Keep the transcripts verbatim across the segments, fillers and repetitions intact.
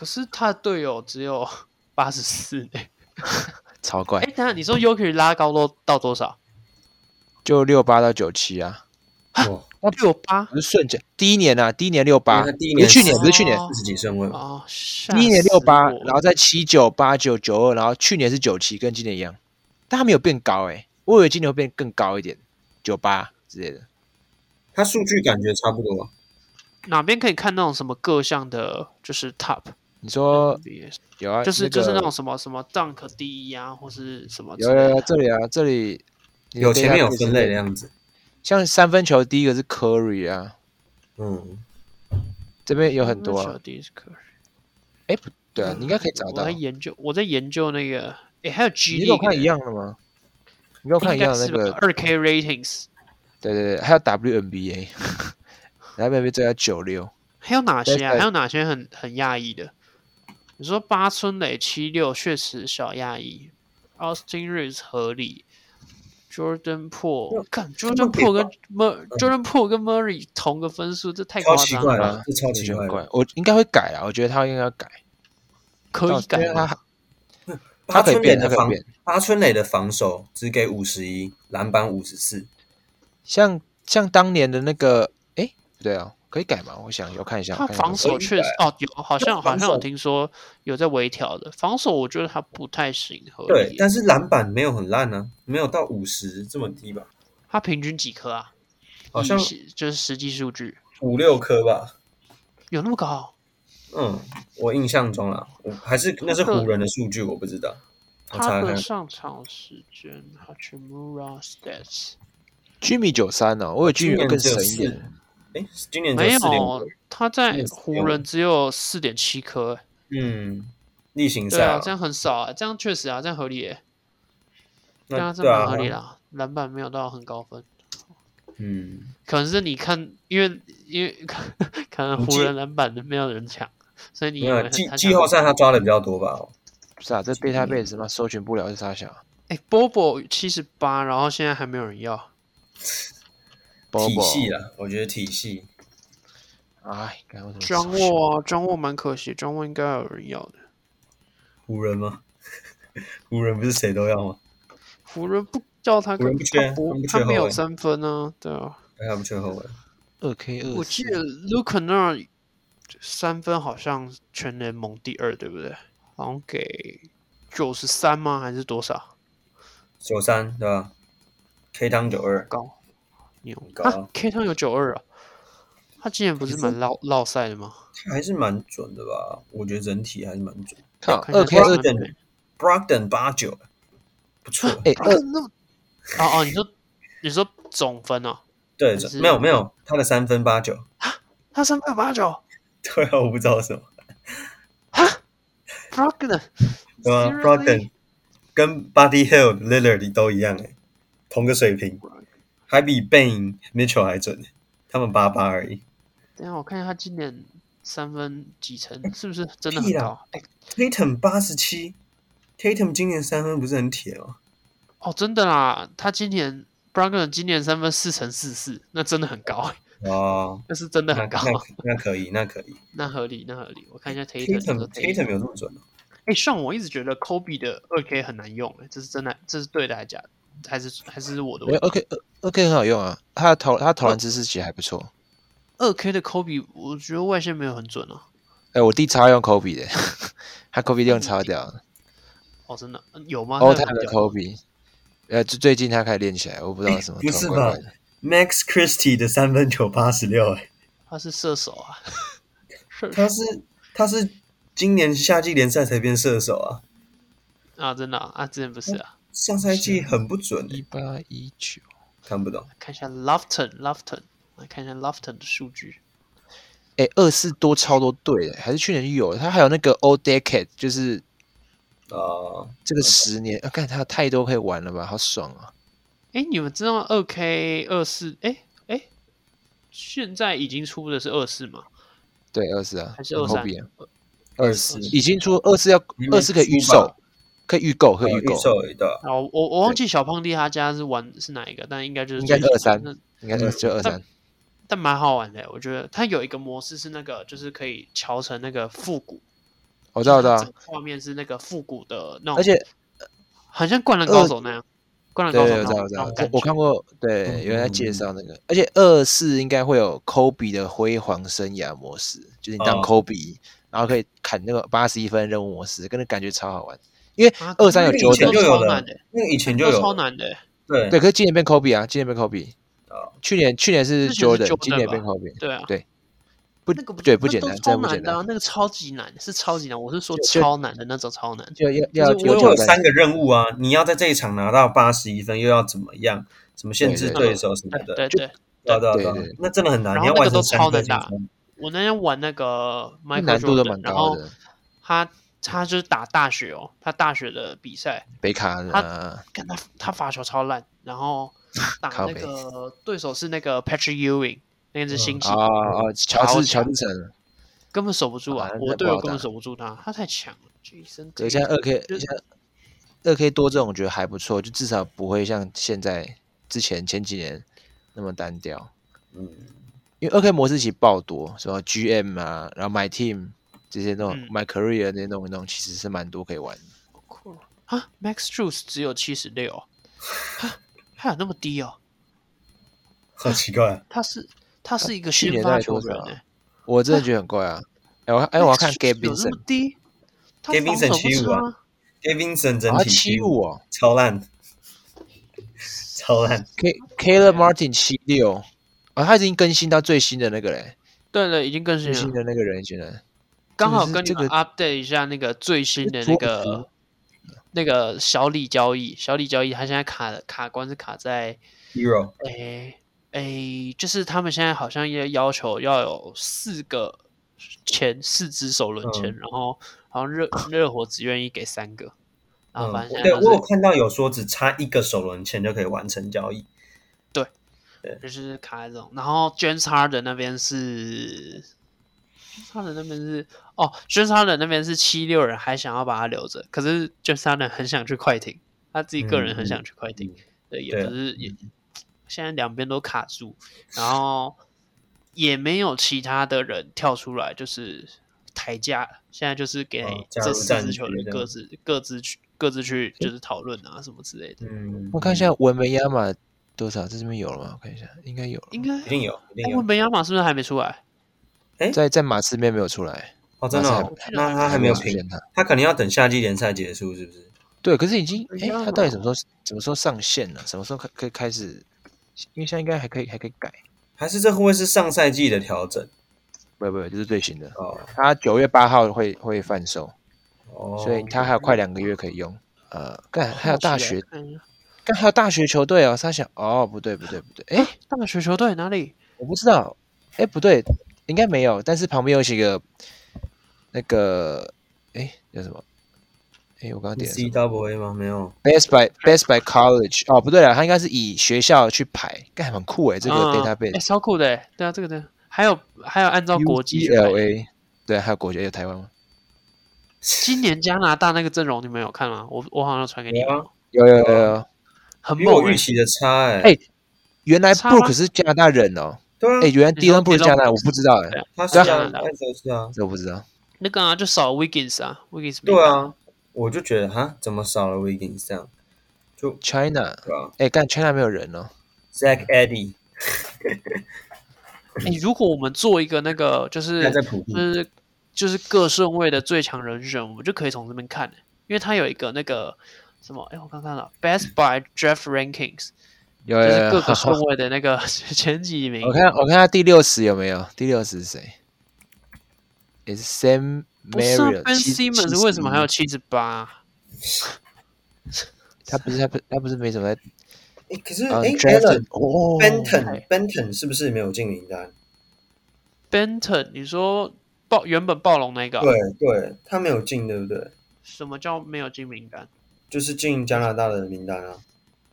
可是他的隊友只有八十四呢， 超怪。 哎，等下你說 Jokic 拉高都到多少？ 就六八到九七啊。 哇，六八不是瞬间，第一年啊，第一年六八， 他第一年不是去年，不是去年四十幾顺位哦， 第一年六八，然後在七九八九九二，然後去年是九七，跟今年一樣，但他沒有變高哎、欸，我以為今年会變更高一點，九八之類的。 他數據感覺差不多。 哪邊可以看那種什麼各項的，就是 top？ 你說有啊， 就是、 那個、 就是那種什麼什麼 dunk 第一啊，或是什麼？ 有有有，這裡啊，這裡有前面有分類的樣子。 像三分球第一個是 Curry 啊， 嗯， 這邊有很多啊。 三分球第一是 Curry， 哎，不對啊，你應該可以找到。 我在研究，我在研究那個，哎，還有 G， 你跟我看一樣的嗎？你跟我看一樣的那個二 K ratings。 對對對，還有 W N B A，W N B A 這要九六。 還有哪些啊？還有哪些很很訝異的？你說八村壘七六確實小訝異 ，Austin Reeves 合理。Jordan Poole， 看 Jordan Poole 跟 Mur Jordan Poole 跟 Murray 同個分數，這太誇張了， 這超奇怪了。 我應該會改啊，我覺得他應該要改， 可以改他他可以變，他可以變。八村壘的防守只給五十一，籃板五十四， 像像當年的那個，哎，不對啊，可以改嗎？我想有看一下。 他防守確實哦，有好像好像有聽說有在微調的防守，我覺得他不太行。 對，但是籃板沒有很爛呢、啊，沒有到五十這麼低吧？ 他平均幾顆啊？ 好像就是實際數據五六顆吧？有那麼高？ 嗯，我印象中啦，我還是那是湖人的數據，我不知道。 他的上場時間 Hachimura Stats。Jimmy 九三呢？我以為 Jimmy 更神一點。 哎，今年沒有，他在湖人只有四點七顆。 嗯，例行賽啊，這樣很少啊，這樣確實啊，這樣合理耶。這樣真蠻合理啦，籃板沒有到很高分。 嗯， 可能是你看，因為因為可能湖人籃板沒有人搶，所以你季季後賽他抓的比較多吧？ 不是啊，這 database 嘛，搜尋不了是啥小？ 哎 ，Bobo 七十八，然後現在還沒有人要。 體系啦，我覺得體系。 哎， 張沃啊，張沃蠻可惜，張沃應該有人要的。 湖人嗎？湖人不是誰都要嗎？ 湖人不叫他， 湖人不缺， 他不，他沒有三分啊，对啊。 他不缺後衛。 二 K 二， 我記得 Luke 那三分好像全聯盟第二，對不對？好像給九十三嗎？還是多少？ 九三對吧 ？K 湯九二高。牛高啊 ！K 湯有九二啊，他今年不是蠻落落賽的嗎？ 他還是蠻準的吧？我覺得整體還是蠻準。 靠，二 K 二點 ，Brogdon 八九，不錯。 哎，二那麼哦哦，你說你說總分哦？ 對，沒有沒有，他的三分八九啊，他三分八九？ 對啊，我不知道什麼。 啊 ，Brogdon 對啊 ，Brogdon 跟 Buddy Hield、Lillard 都一樣哎，同個水平。還比 Bane、Mitchell 還準，他們八八而已。 等一下我看一下他今年三分幾成，是不是真的很高？ 哎 ，Tatum 八十七 ，Tatum 今年三分不是很鐵嗎？ 哦，真的啦，他今年 Brogdon 今年三分四成四四，那真的很高哦， 那是真的很高。 那, 那, 那可以，那可以， 那合理，那合理。我看一下 Tatum，Tatum 有這麼準嗎？ 哎，像我一直覺得 Kobe 的二 K 很難用，這是真的，這是對的還是假的？還是還是我的問題？ 二 K 二 K 很好用啊，他的投他投籃姿勢其實還不錯。 二 K 的 Kobe 我覺得外線沒有很準啊。 哎、欸，我弟超用 Kobe 的，他 Kobe 用超屌的。 哦，真的有嗎？ 歐泰的 Kobe， 呃，最近他開始練起來，我不知道什麼。 不是吧 ？Max Christie 的三分球八十六，哎， 他是射手啊。 他是他是今年夏季聯賽才變射手啊。 啊，真的啊，啊之前不是啊。 上賽季很不準、欸， 一八一九， 看不懂。 看一下 Lofton，Lofton， 來看一下 Lofton 的數據。 哎、欸，二四多超多隊的，還是去年就有了。他還有那個 All Decade，就是啊、呃，這個十年，啊，看他太多可以玩了吧，好爽啊！ 哎，你們知道二 K 二四？哎哎，現在已經出的是二四嗎？ 对，二四啊， 還是二三？ 二四已經出，二四要二四可以預售。可以預購，可以預購。 哦，我我忘記小胖弟他家是玩是哪一個，但應該就是應該二三，應該是就二三。 但蠻好玩的，我覺得它有一個模式是那個，就是可以調成那個復古， 我知道，我知道。 畫面是那個復古的那種， 而且很像《灌籃高手》那樣。灌籃高手， 對，我知道，我知道。我我看過，對，有人在介紹那個。而且二四應該會有 Kobe 的輝煌生涯模式，就是你當 Kobe，、哦、然後可以砍那個八十一分任務模式，跟那感覺超好玩。因為二三有 Jordan 就有的，那個以前就有， 超難的。 對對，可是今年變 Kobe 啊，今年變 Kobe。去年去年是 Jordan， 今年變 Kobe。 對啊， 對，不，對，不簡單，真的不簡單。 那個超級難，是超級難。我是說超難的那種，超難。 就要要有有三個任務啊，你要在這一場拿到八十一分，又要怎麼樣？什麼限制對手什麼的？ 對对對对对，那真的很难。 然後那個都超難打。我那天玩那個 Michael Jordan， 難度都蠻高的。 他他就是打大學哦，他大學的比賽， 北卡， 他看他他罰球超爛，然後。打那個對手是那個 Patrick Ewing， 那個是新星啊啊，喬治喬治城根本守不住啊！我隊友根本守不住他，他太強了。 對，現在二 K， 現在二 K 多這種我覺得還不錯，就至少不會像現在之前前幾年那麼單調。嗯，因為二 K 模式其實爆多，什麼 G M 啊，然後 My Team 這些那種、嗯、My Career 那些弄一弄，其實是蠻多可以玩的。 酷啊 ！Max Strus 只有七十六。他有那麼低哦， 好奇怪。 他是他是一個先發球員哎， 我真的覺得很怪啊。哎我哎我要看 Gabe Vincent， 那麼低 ，Gabe Vincent 七五啊 ，Gabe Vincent 整體七五哦， 超爛，超爛。 K Caleb Martin 七六，啊，他已經更新到最新的那個嘞。 對了，已經更新了。 最新的那個人現在剛好跟你們 update 一下那個最新的那個。那個小李交易，小李交易，他現在卡卡關是卡在 Hero， 誒誒，就是他們現在好像也要求要有四個籤，四支首輪籤，嗯、然後好像熱熱火只願意給三個，然後反正現在、就是嗯、對我有看到有說只差一個首輪籤就可以完成交易， 對，對，就是卡在這種，然後 James Harden 那邊是。他的那邊是哦 James Harden 那邊是七六人還想要把他留着，可是 James Harden 很想去快艇，他自己個人很想去快艇，嗯、對，也不是也，現在兩邊都卡住，然後也沒有其他的人跳出來，就是抬價，現在就是給這四支球隊各自、哦、各自去各自去就是討論啊什麼之類的。嗯， 我看一下文梅亞馬多少，這邊有了嗎？我看一下，應該有， 應該一定有，一定有。 文梅亞馬是不是還沒出來？ 在在馬刺面沒有出來哦，真的、哦，那他還沒有評，他他可能要等夏季聯賽結束，是不是？ 對，可是已經，哎，他到底什麼時候什麼時候上線呢、啊？什麼時候可可以開始？因為現在應該還可以還可以改， 還是這會不會是上賽季的調整？ 不不，這、就是最新的哦。他九月八號會會販售，哦，所以他還有快兩個月可以用。呃，幹還有大學，幹還有大學球隊哦。他想，哦，不對不對不對，哎， 大學球隊哪裡？ 我不知道，哎，不對。應該沒有，但是旁邊有幾個那個，哎，叫什麼？哎，我剛剛點 C W A 嗎？沒有 ，Best by Best by College。哦，不對了，他應該是以學校去排，幹很酷哎，這個 database，、 嗯、超酷的，對啊，這個的，還有還有按照國籍 U C L A， 對，還有國籍，還有台灣嗎？ 今年加拿大那個陣容你們有看嗎？我我好像傳給你們， 有有有有， 很猛，比我預期的差哎， 哎，原來 Brook 是加拿大人哦。 對啊， 哎，原來 Dillon Brooks 是加拿大，我不知道哎， 他是加拿大，是啊， 這我不知道。 那個啊，就少 Wiggins 啊 ，Wiggins 對啊，我就覺得哈，怎麼少了 Wiggins 這樣？就 China， 對啊，哎，幹 China 沒有人哦 ，Zach Edey。 哎，如果我們做一個那個，就是就是就是各順位的最強人選，我們就可以從這邊看，因為他有一個那個什麼，哎，我剛看到 Best by Draft Rankings。 有，有，有就是各個順位的那個前幾名。 我看，我看他第六十有沒有？第六十是誰？也是 Sam Merrill。 Ben Simmons 為什麼還有七十八？ 他不是他不他不是沒什麼在。 哎，可是哎 ，Benton Benton 是不是沒有進名單 ？Benton， 你說暴原本暴龍那個？ 對對，他沒有進，對不對？ 什麼叫沒有進名單？ 就是進加拿大的名單啊。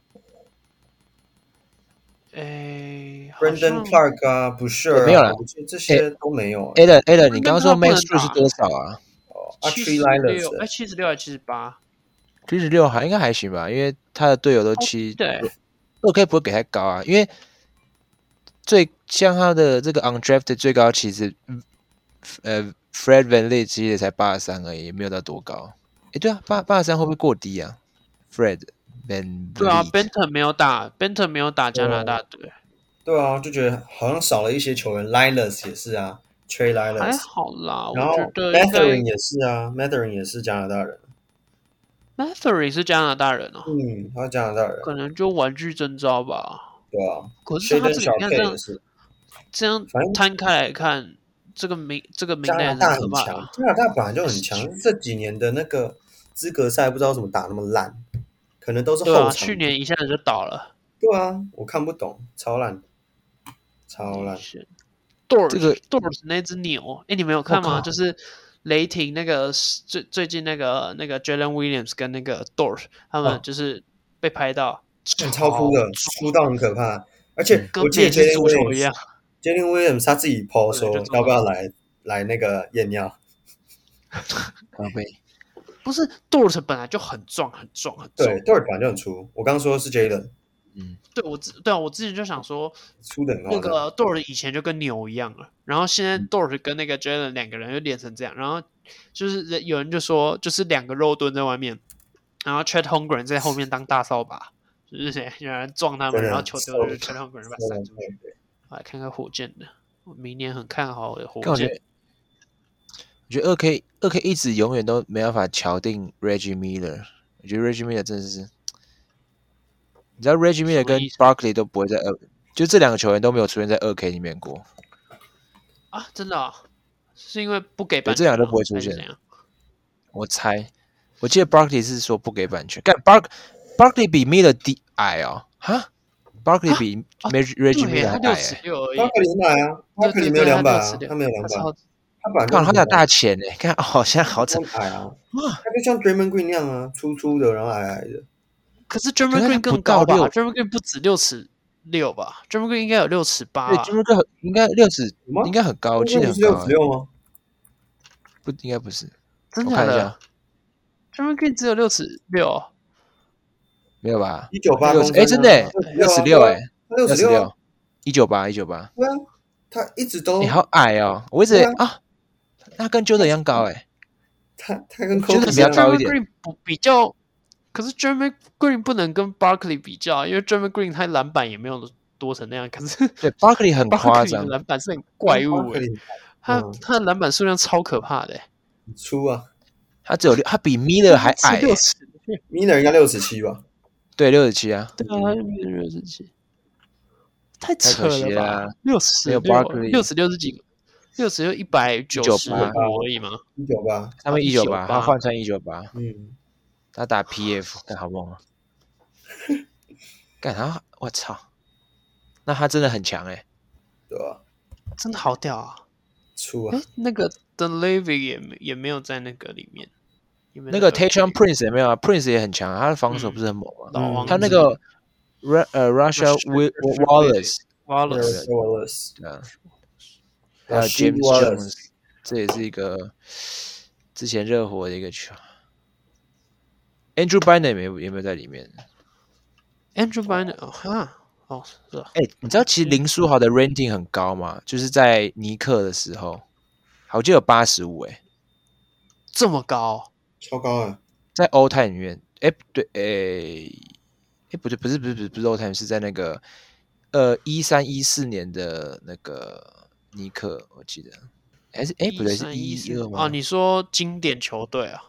誒 Brandon Clark 啊，不是、啊、 沒有了， 這些都沒有、啊。 Alan Alan， 你剛剛說 Max Strus 是多少啊？ 哦，七十六， 哎，七十六還是七十八？ 七十六還應該還行吧，因為他的隊友都七，對，二 K 不會給太高啊，因為最像他的這個 undrafted 最高其實呃 Fred VanVleet 其實也才八十三而已，也沒有到多高。哎，對啊，八八十三會不會過低啊 ？Fred VanVleet 對啊 ，Benton 沒有打 ，Benton 沒有打加拿大隊。 對啊，就覺得好像少了一些球員 ，Lilas 也是啊 ，Trey Lilas 還好啦， 然後我覺得 Mathurin 也是啊 ，Mathurin 也是加拿大人。 Mathurin 是加拿大人哦， 嗯，他是加拿大人， 可能就玩具徵召吧。 对啊， 可是他这個你看這樣， 是這樣攤開來看，這個名這個名單加拿大很強，加拿大本來就很強，這幾年的那個資格賽不知道怎麼打那麼爛，可能都是後場。 對啊，去年一下子就倒了。 對啊，我看不懂，超爛，超爛。 Dort 這個 Dort 那只牛，哎，你們有看嗎？就是雷霆那個最最近那個那個 Jalen Williams 跟那個 Dort 他們就是被拍到， 超粗的，粗到很可怕。而且我記得 Jalen Williams Jalen Williams 他自己 po 說要不要來來那個驗尿， 寶貝。 不是 Dort 本來就很壯很壯很壯， 對 Dort 本來就很粗。我剛剛說的是 Jalen， 嗯，对我对啊，我之前就想說， 粗的那個 Dort 以前就跟牛一樣了，然後現在 Dort 跟那個 Jalen 兩個人又練成這樣，然後就是有人就說，就是兩個肉盾在外面，然後 Chet Holmgren 在後面當大掃把，就是有人撞他們，然後球丟就是 Chet Holmgren 把他閃出去。來看看火箭的，我明年很看好的火箭。 我覺得二 K 二 K 一直永遠都沒辦法敲定 Reggie Miller， 我覺得 Reggie Miller 真的是，你知道 Reggie Miller 跟 Barkley 都不會在二，就這兩個球員都沒有出現在二 K 裡面過啊，真的、哦，是因為不給版權， 這兩個都不會出現。我猜，我記得 Barkley 是說不給版權，幹 Bark Barkley 比 Miller 低矮哦，哈 ，Barkley 比 Reggie Miller 還矮、欸， Barkley 矮啊 ，Barkley 沒有兩百啊，他沒有兩百。 看他有大錢哎，看好像好慘矮啊！他就像 Draymond Green 那樣啊，粗粗的，然後矮矮的。 可是 Draymond Green 更高吧 ？Draymond Green 不止六尺六吧 ？Draymond Green 應該有六尺八。 對 ，Draymond Green 應該六尺，應該很高，我記得很高。 六尺六嗎？ 不，應該不是。 真的假的 ？Draymond Green 只有六尺六，沒有吧？ 一九八公分， 哎，真的，六尺六哎， 六尺六， 一九八，一九八。 对啊，他一直都。 你好矮哦，我一直啊。他跟 Jordan 一樣高哎、欸， 他他跟 Jordan 比較高一點。 Green 不比較，可是 Draymond Green 不能跟 Barkley 比較，因為 Draymond Green 他籃板也沒有多成那樣。可是對 Barkley 很誇張， 籃板是很怪物哎、欸，他他的籃板數量超可怕的、欸， 很粗啊， 他只有六，他比 Miller 還矮、欸、 六尺 ，Miller 應該六十七吧？ 對，六十七啊， 對啊，他 Miller 六十七，太扯了吧？六十六， 六十六是幾個？六十就一百九十五而已嘛， 一九八， 他們一九八，他換成一九八， 嗯， 他打 P F， 幹好猛啊！幹他，我操！那他真的很強哎、欸， 對啊， 真的好屌啊！ 粗啊！ 那個 Dunleavy 也也沒有在那個裡面，有有那個 Tayshaun Prince 也沒有啊 ，Prince 也很強、啊，他的防守不是很猛啊。嗯、他那個 Ra 呃 Russia Wallace Wallace Wallace 對啊。還有 James Jones， 這也是一個之前熱火的一個球。Andrew Bynum 也沒有也沒有在裡面。 Andrew Bynum 哦哈哦是啊。 哎，你知道其實林書豪的 rating 很高嗎？就是在尼克的時候，好像有八十五哎， 這麼高， 超高啊！ 在 All Time 裡面，哎不對，哎哎不對，不是不是不是不是 All Time， 是在那個呃一三一四年的那個。尼克，我記得還是哎不對，是一一二嗎？ 哦，你說經典球隊啊？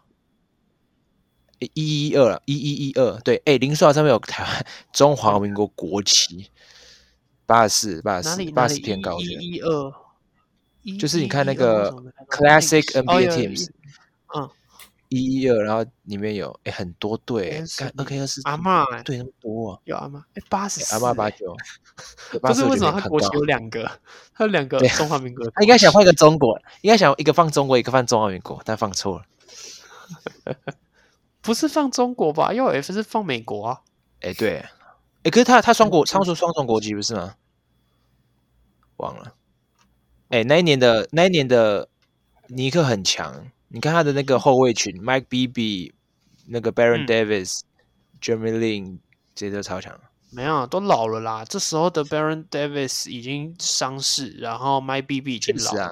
一一二了，一一一二，對，哎，林書豪上面有台灣中華民國國旗，八十四，八十四，八十偏高， 一一二， 就是你看那個 Classic N B A Teams， 嗯， 一一二，然後裡面有哎很多隊，看二 K 二四， 阿嬤對那麼多啊， 有阿嬤，哎八十四， 阿嬤八九。 不是為什麼他國旗有兩個？他有兩個中華民國， 他應該想換一個中國，應該想一個放中國，一個放中華民國，但放錯了。 不是放中國吧 ？U F 是放美國啊。 哎，對，哎，可是他他雙國，他說雙重國籍不是嗎？忘了。哎，那一年的那一年的尼克很強，你看他的那個後衛群 ，Mike Bibby， 那個 Baron Davis、Jeremy Lin， 這些都超強。 沒有，都老了啦。這時候的 Baron Davis 已經傷勢，然後 Mike Bibby 已經老了。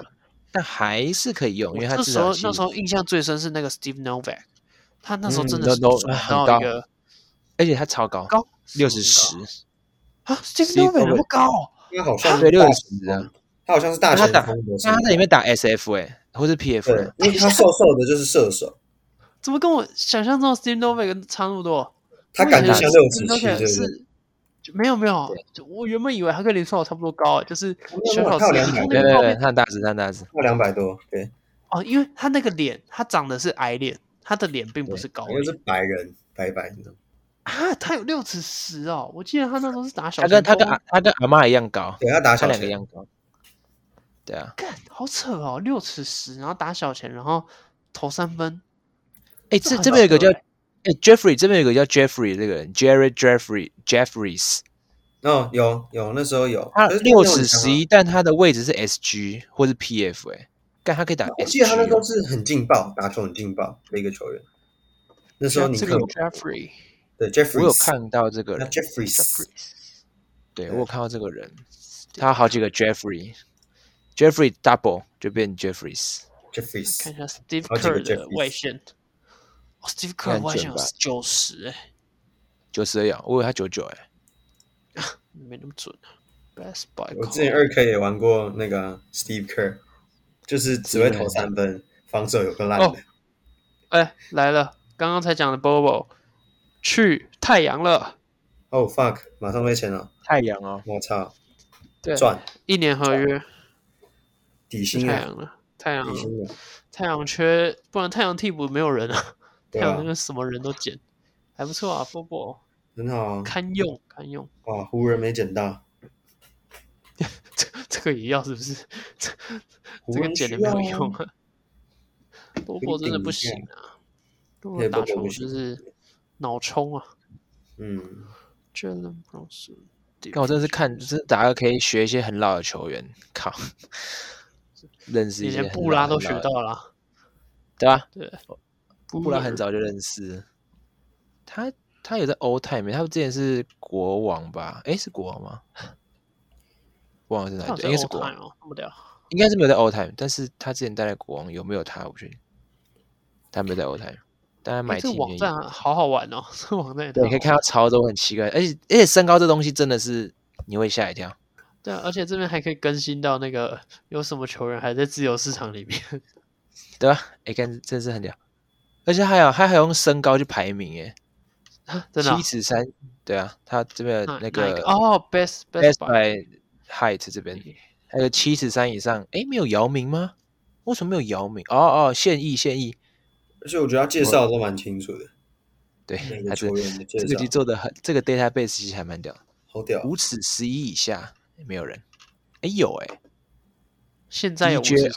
但還是可以用，因為他那時候至少那時候印象最深是那個 Steve Novak， 他那時候真的是准到一個、嗯，而且他超高， 高六十十啊 ，Steve Novak 那麼高， 他好像对六十十啊， 他好像是大前鋒， 那他在裡面打 S F 哎、欸，或是 P F， 對，因為他瘦瘦的，就是射手。 怎麼跟我想象中的 Steve Novak 差那麼多？ 他感覺像六尺七，對不對？沒有沒有，我原本以為他跟林書豪差不多高，就是小小只， 你看那個照片，他很大只，他很大只， 他兩百多，對。 哦，因為他那個臉，他長得是矮臉，他的臉並不是高臉， 因為是白人，白白那種。 啊，他有六尺十哦，我記得他那時候是打小前鋒，他跟他跟他跟阿媽一樣高， 對他打小前，他兩個一樣高。對啊， 幹好扯哦，六尺十，然後打小前，然後投三分。 哎，這這邊有一個叫哎 Jeffrey， 這邊有一個叫 Jeffrey 這個人 ，Jared Jeffrey Jeffries。 哦，有有那時候有， 他六尺十一，但他的位置是 S G 或是 P F 哎、欸，但他可以打 S G。 我記得他那時候是很勁爆，打球很勁爆的一個球員。那時候你看 Jeffrey， 對 Jeffrey， 我有看到這個人 ，Jeffrey， 對我有看到這個人，他有好幾個 Jeffrey，Jeffrey double 就變 Jeffries。Jeffries， 看一下 Steve Kerr 的外線。哦 ，Steve Kerr 外線有九十哎， 九十而已，我以為他九九哎， 沒那麼準啊。Best by 我之前二 K 也玩過那個 Steve Kerr， 就是只會投三分，防守有個爛的。 哎、欸，來了，剛剛才講的 Bobo 去太陽了。 哦、oh, fuck， 馬上被簽了。 太陽哦， 我操， 對， 賺一年合約， 底薪太陽了，太陽底薪了， 太陽缺，不然太陽替補沒有人啊。 啊太陽那個什麼人都撿，還不錯啊 ，Bobo 很好啊， 堪用堪用。 哇，湖人沒撿到。 這這個也要是不是？這這個撿的沒有用啊。波波真的不行啊，波波打球就是腦衝啊。 嗯 Jalen Brunson， 看我真的是看，真的打個可以學一些很老的球員，靠，認識一些很老很老的。連布拉都學到了， 對吧？ 對， 布拉很早就認識。他他有在 All Time， 他之前是國王吧？誒，是國王嗎？國王是哪隊？應該是國王哦，那麼屌。應該是沒有在 All Time，但是他之前待在國王，有沒有他？我不確定。他沒有在 All Time，但他買進。 這網站好好玩哦，這網站對，可以看到超多很奇怪，而且而且身高這東西真的是你會嚇一跳。 對啊，而且這邊還可以更新到那個有什麼球員還在自由市場裡面， 對吧？哎，看真是很屌，而且還有他還有用身高去排名，哎， 真的七尺三，對啊，他這邊那個哦 ，best best by height 這邊還有七尺三以上，哎，沒有姚明嗎？為什麼沒有姚明？哦哦，現役現役。 而且我覺得他介紹都蠻清楚的， 對，他這個這個集做的很，這個 database 其實還蠻屌的， 好屌， 五尺十一以下沒有人，哎有哎， 現在有五尺十一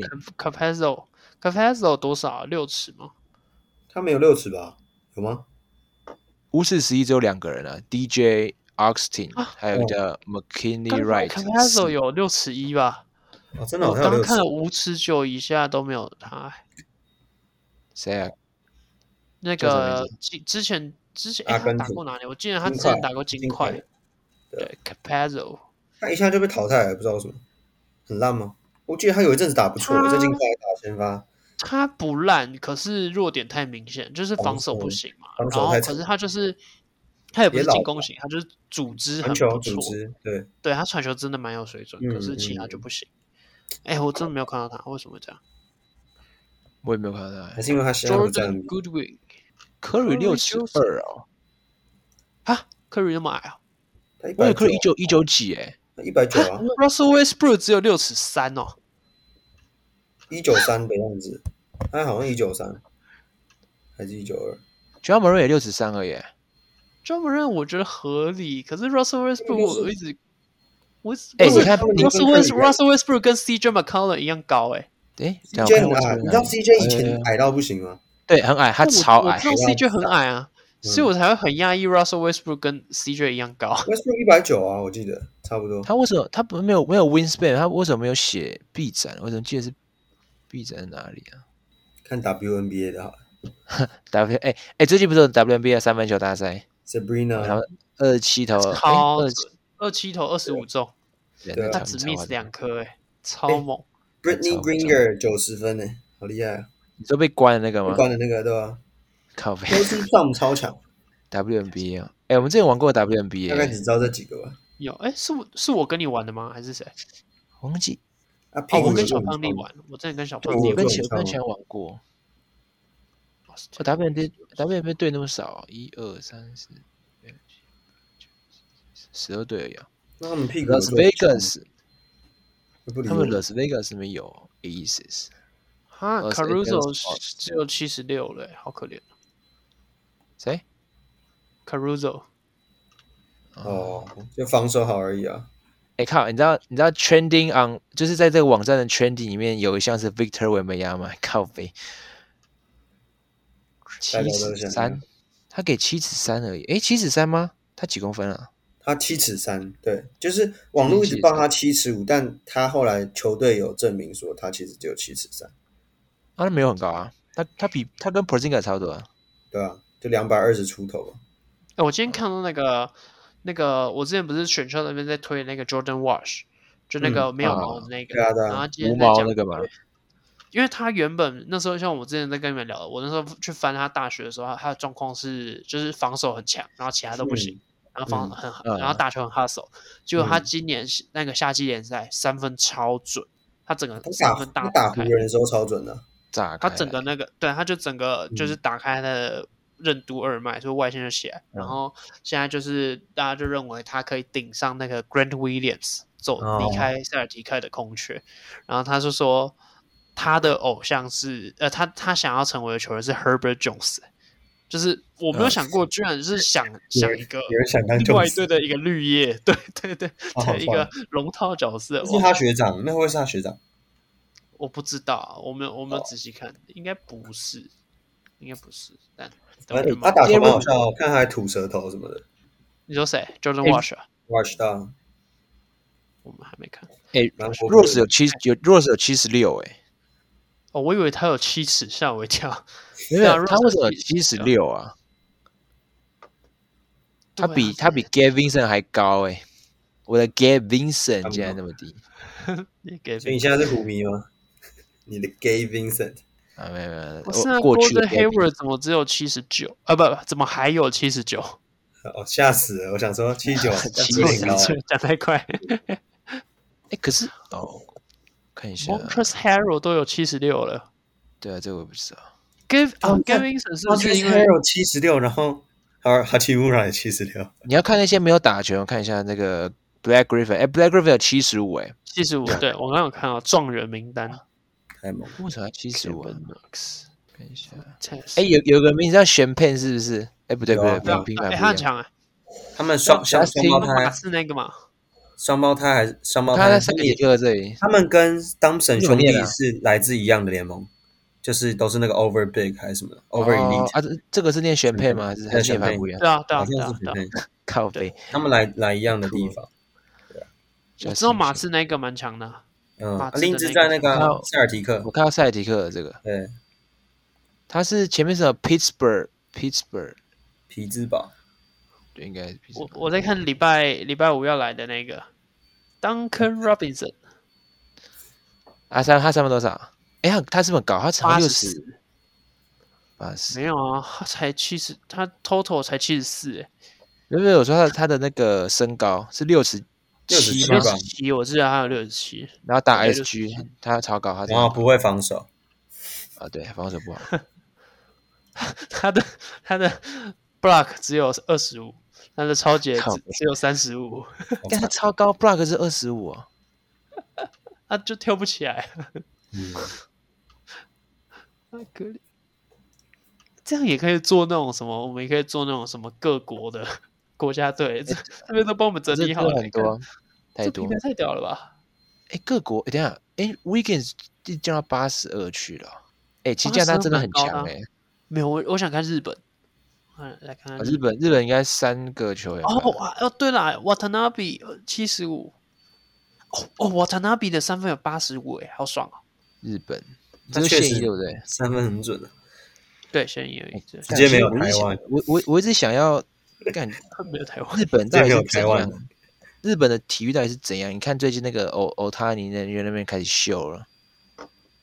，Capazzo Capazzo 多少？六尺嗎？ 他沒有六尺吧？有嗎？ 五尺十一只有兩個人啊 ，D J Augustin，、啊、還有一個叫 McKinley Wright。Capazzo 有六尺一吧？ 哦，真的， 我剛剛看了五尺九以下都沒有他。 誰啊？ 那個之前之前、欸、他打過哪裡？我記得他之前打過金塊。對 ，Capazzo， 他一下就被淘汰了，不知道為什麼，很爛嗎？我記得他有一陣子打不錯，在金塊打先發。 他不爛，可是弱點太明顯，就是防守不行嘛。然後可是他就是他也不是進攻型，他就是組織很不錯。 對， 對他傳球真的蠻有水準，嗯、可是其他就不行。哎、嗯欸，我真的沒有看到他，為什麼會這樣？ 我也沒有看到他， 還是因為他現在不在。 Jordan Goodwin，Curry 六尺二哦， 啊 ，Curry 那麼矮啊？ 我以為 Curry 一九一九幾哎， 一百九啊 ？Russell Westbrook 只有六尺三哦， 一九三的樣子，他好像一九三，還是一九二 ？Ja Morant 也六尺三而已。 Ja Morant 我覺得合理，可是 Russell Westbrook 我一直，我哎，你看 Russell Russell Westbrook 跟 C J McCollum 一樣高哎。 哎 ，C J 很矮，你知道 C J 以前矮到不行嗎？ 對，很矮，他超矮。 我知道 C J 很矮啊，所以我才會很訝異 Russell Westbrook 跟 C J 一樣高。 Westbrook 一百九啊，我記得差不多。 他為什麼他不沒有沒有 wingspan？ 他為什麼沒有寫臂展？我怎麼記得是臂展在哪裡啊？ 看 W N B A 的好。 W 哎哎，最近不是有 W N B A 三分球大賽 ？Sabrina， 然後二十七投， 超二七投二十五中， 對， 他只 miss 兩顆，哎，超猛。 Brittany Griner 九十分呢，好厲害啊！ 你说被關的那個嗎？ 被關的那個對吧？ 靠北 ，Kelsey Plum 超強 ，W N B A 啊！哎，我們之前玩過 W N B A， 大概只知道這幾個吧。 有哎，是我是我跟你玩的嗎？還是誰？ 忘記啊， 哦，我跟小胖弟玩，我之前跟小胖弟我跟小跟小玩過。哦 W N B A W N B A 隊那麼少，一二三四六七九十二隊而已啊。 那他們屁股 Las Vegas， 他們 Las Vegas 裡面有 Aces。 哈 ，Caruso 只有七十六了，好可憐。 誰 ？Caruso。 哦，就防守好而已啊。 哎靠，你知道你知道 Trending on 就是在這個網站的 Trending 裡面有一項是 Victor Wembanyama 嗎？靠北。七尺三，他給七尺三而已。哎，七尺三嗎？他幾公分啊？ 他七尺三，對，就是網絡一直報他七尺五，但他後來球隊有證明說他其實只有七尺三。 啊，他沒有很高啊，他他比他跟 Porzingis 差不多啊。 對啊，就兩百二十出頭。 哎，我今天看到那個那個，我之前不是選秀那邊在推那個 Jordan Wash， 就那個沒有毛的那個， 嗯啊啊、 然後今天無毛那個嘛。 因為他原本那時候像我之前在跟你們聊的，我那時候去翻他大學的時候，他的狀況是就是防守很強，然後其他都不行，嗯、然後防很、嗯、然後打球很 hustle，、嗯、結果他今年那個夏季聯賽三分超準，他整個三分大打湖人的時候超準的、啊， 炸開， 他整個那個對，他就整個就是打開他的任督二脈，所以外線就起來，嗯、然後現在就是大家就認為他可以頂上那個 Grant Williams 走離開塞爾提克的空缺，哦、然後他就說。他的偶像是呃，他他想要成為的球員是 Herbert Jones， 就是我沒有想過，居然是想、嗯、想一個另外一隊的一個綠葉，對對對， 哦、 的一個龍套角色。 是他學長，那會是他學長？ 我不知道，我沒有我沒有仔細看，哦、應該不是，應該不是。但他打球蠻好笑，我看他還吐舌頭什麼的。 你說誰 ？Jordan Wash？Wash 到， 我們還沒看。 哎 ，Rose 有七有 Rose 有七十六哎。 哦，我以為他有七尺，嚇我一跳。 沒有，他為什麼有七十六啊？他比他比 Gabe Vincent 還高哎！我的 Gabe Vincent 竟然那麼低。 所以你現在是虎迷嗎？你的 Gabe Vincent 啊，沒有沒有， 我現在 Gordon Hayward 怎麼只有七十九啊？不，怎麼還有七十九？ 哦，嚇死了！我想說七十九， 七十九， 講太快。 哎，可是哦。看一下 Montrezl Harrell 都有七十六了。 對啊，這個我不知道。 Gabe 啊 Gabe Vincent 是不是因為 Harrell 七十六，然後哈哈奇乌拉也七十六？ 你要看那些沒有打球，看一下那個 Black Griffin， 哎 ，Black Griffin 有七十五哎， 七十五，對我剛剛有看到狀元名單， 太猛！ 為什麼七十五？看一下， 哎， 有有個名字叫玄佩，是不是？哎，不對不对，不平凡， 他很強哎。 他們雙雙雙胞胎是那個嘛？ 雙胞胎還是雙胞胎？ 他在塞爾提克這裡， 他們跟 Thompson 兄弟是來自一樣的聯盟，就是都是那個 Over Big 還是什麼的 Over Elite 啊？這這個是念玄佩嗎？還是還是念法不一樣？ 對啊對啊對啊對啊， 靠北， 他們來來一樣的地方。 我知道馬刺那個蠻強的， 嗯，林茲在那個塞爾提克， 我看到塞爾提克的這個， 對， 他是前面是 Pittsburgh Pittsburgh 匹茲堡。 對，應該。 我我在看禮拜禮拜五要來的那個 Duncan Robinson， 啊，三他三分多少？哎，他他是不是很高？他才六十，八十沒有啊，他才七十，他 total 才七十四哎。 沒有，我說他他的那個身高是六十七， 六十七，我記得他有六十七。 然後打 S G， 他超高，他然後不會防守啊，对，防守不好。 他的他的 block 只有二十五。他的超截只有三十五， 但他超高 ，block 是二十五啊， 他就跳不起來。 嗯， 太可憐。這樣也可以做那種什麼？我們也可以做那種什麼各國的國家隊，這這邊都幫我們整理好了， 很多太多， 太屌了吧？ 哎，各國，等一下，哎 ，Wiggins 就降到八十二去了，哎，其實加拿大真的很強哎。 沒有，我我想看日本。來看看日本，日本應該三個球員。 哦哦，對了 ，Watanabe 七十五。哦哦 ，Watanabe 的三分有八十五，哎，好爽啊！ 日本，這是現役對不對？ 三分很準的。 對，現役而已， 直接沒有台灣。 我我我一直想要幹， 沒有台灣。 日本到底是怎樣？日本的體育到底是怎樣？你看最近那個歐歐塔尼那邊那邊開始秀了。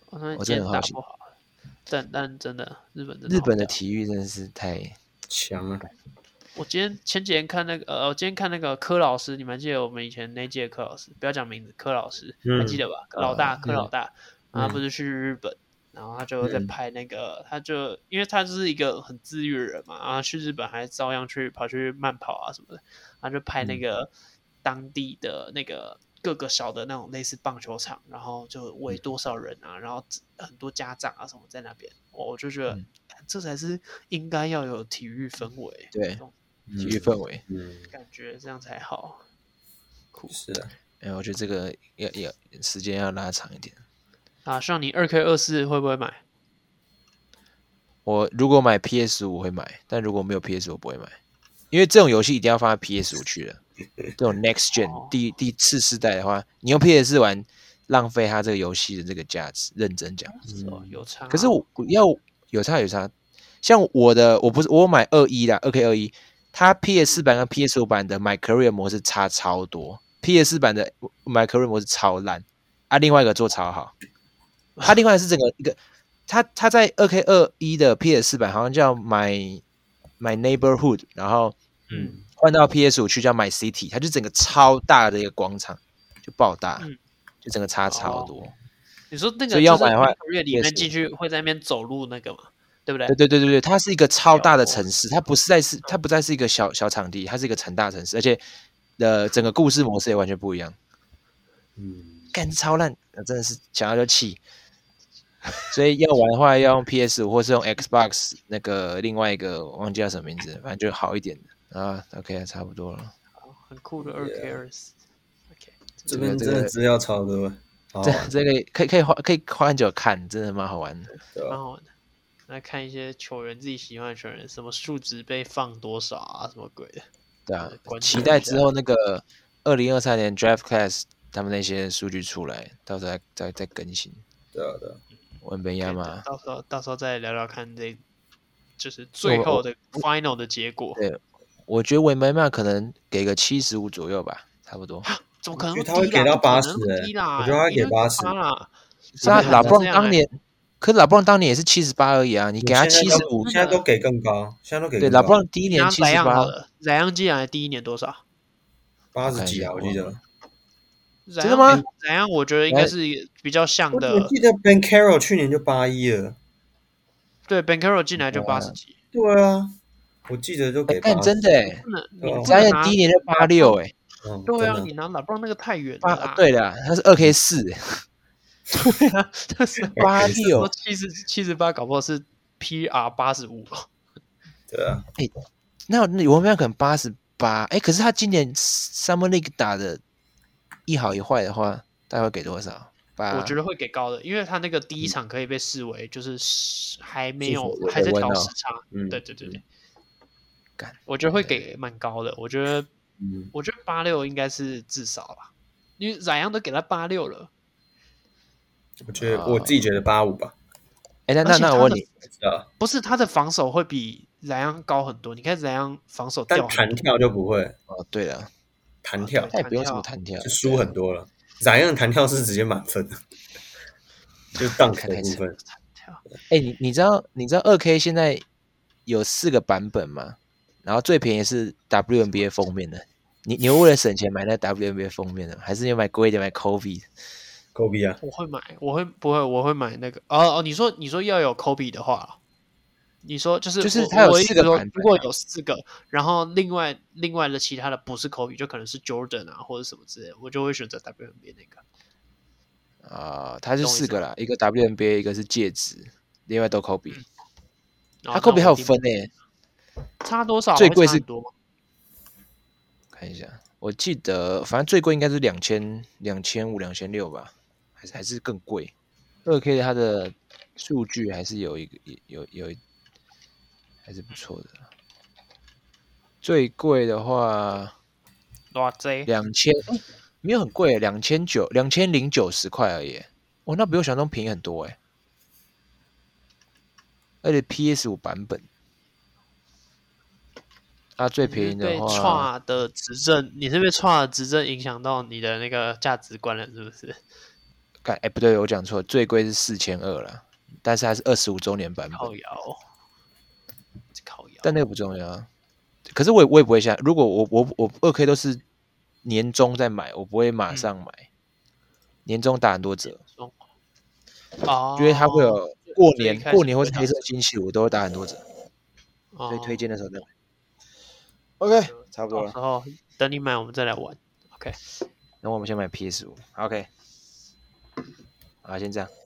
我真的很好奇。 但但真的，日本真的日本的體育真的是太強了。 我今天前幾天看那個呃，我今天看那個柯老師，你們還記得我們以前那屆柯老師？不要講名字，柯老師、嗯、還記得吧？老大，柯、嗯、老大，然後他不是去日本，嗯、然後他就在拍那個，嗯、他就因為他就是一個很自律的人嘛，然後去日本還照樣去跑去慢跑啊什麼的，他就拍那個當地的那個。各個小的那種類似棒球場，然後就圍多少人啊，然後很多家長啊什麼在那邊，我就覺得、嗯、這才是應該要有體育氛圍， 對，體育氛圍， 嗯，感覺這樣才好。酷， 是的， 哎，我覺得這個要要時間要拉長一點。 啊，像你二 K 二四會不會買？ 我如果買 P S 五會買，但如果沒有 P S 五我不會買，因為這種遊戲一定要放在 P S 五去了。這種 Next Gen、哦、第第次世代的話，你用 P S 四玩，浪費它這個遊戲的這個價值。認真講， 嗯、有差、啊。 可是我要有差有差，像我的我不是我買二一啦，二 K 二一，它 P S 四版跟 P S 五版的 My Career 模式差超多 ，P S 四版的 My Career 模式超爛，啊，另外一個做超好。它另外是整個一個，它它在二 K 二一的 P S 四版好像叫 My My Neighborhood， 然後嗯。換到 P S 五 去叫 My City， 它就整個超大的一個廣場，就爆大，嗯、就整個差超多。哦、 你說那個要買的話，裡面進去會在那邊走路那個嘛，對不對？ 對對對對對，它是一個超大的城市，它不是在是它不再是一個小小場地，它是一個成大城市，而且的整個故事模式也完全不一樣。嗯，幹超爛，真的是想要就氣。所以要玩的話，要用 P S 五 或是用 Xbox 那個另外一個我忘記叫什麼名字，反正就好一點的。啊 ，OK， 差不多了。 很酷的二 K 二四 ，OK， 這邊真的資料超多， 這這個可以可以花可以花很久看，真的蠻好玩的， 蠻好玩的。來看一些球員自己喜歡的球員，什麼數值被放多少啊，什麼鬼的。對啊， 期待之後那個二零二三年 Draft Class 他們那些數據出來，到時候再再再更新。 對啊對啊， 文本亞嘛， 到時候到時候再聊聊看這，就是最後的 Final 的結果。 對。我覺得韋梅曼可能給個七十五左右吧，差不多。 怎麼可能會低啦？ 他會給到八十、欸？我覺得他會給八十。 是啊，拉布朗當年，可是拉布朗當年也是七十八而已啊，你給他七十五， 現在都給更高，現在都給更高。 對，拉布朗第一年七十八， 萊昂基亞第一年多少？ 八十幾啊，我記得。 真的嗎？ 萊昂我覺得應該是比較像的。 我記得 Ben Carroll 去年就八一了。 對 ，Ben Carroll 進來就八十幾。 對啊。我記得就給， 但真的哎，詹燕第一年就八六哎， 對啊，你拿拉布朗那個太遠了。 對的，他是二 K 四哎， 對啊，他是八六七十七十八，搞不好是 P R 八十五了。 對啊， 哎，那那我们可能八十八哎，可是他今年 Summer League 打的一好一壞的話，大概會給多少？ 我覺得會給高的，因為他那個第一場可以被視為就是還沒有還在調時差。嗯，對對對對。我覺得會給蠻高的，我覺得，嗯、我覺得八六應該是至少啦，因為宰羊都給他八六了。 我覺得、uh, 我自己覺得八五吧。 哎、欸，那那那我問你， 不是他的防守會比宰羊高很多？你看宰羊防守掉， 但彈跳就不會。 哦，對了， 彈跳他也不用什麼彈跳， 就輸很多了。宰羊的彈跳是直接滿分的，就 dunk 的部分。 哎、欸，你你知道你知道二 K 現在有四個版本嗎？然後最便宜是 W N B A 封面的，你你會為了省錢買那 W N B A 封面的，還是你買貴一點買 Kobe？Kobe 啊， 我會買，我會不會我會買那個哦哦，你說你說要有 Kobe 的話，你說就是就是它有四個版本、啊， 如果有四個，然後另外另外的其他的不是 Kobe，就可能是 Jordan 啊或者什麼之類的，我就會選擇 W N B A 那個。 啊、呃，它是四個啦，一個 W N B A， 一個是戒指，另外都 Kobe，、嗯、它 Kobe 還有分誒、欸。 差多少？ 最貴是多嗎？ 看一下，我記得反正最貴應該是兩千兩千五、兩千六吧，還是還是更貴。二 K 它的數據還是有一個有有，有還是不錯的。最貴的話， 多少？ 兩千，沒有很貴，兩千九兩千零九十塊而已。哦，那比我想象中便宜很多哎。而且 P S 五 版本。它最便宜的話， 被差的執政，你是被差的執政影響到你的那個價值觀了，是不是？ 看，哎，不對，我講錯，最貴是四千二了，但是還是二十五周年版本。 靠腰，靠腰， 但那個不重要啊。可是我也我也不會下，如果我我我二 K 都是年終再買，我不會馬上買，嗯、年終打很多折。 哦， 因為它會有過年過年或是黑色星期五都會打很多折， 哦、 所以推薦的時候再買。OK， 差不多了。 然後等你買，我們再來玩。OK， 那我們先買 P S 五。OK， 好，先這樣。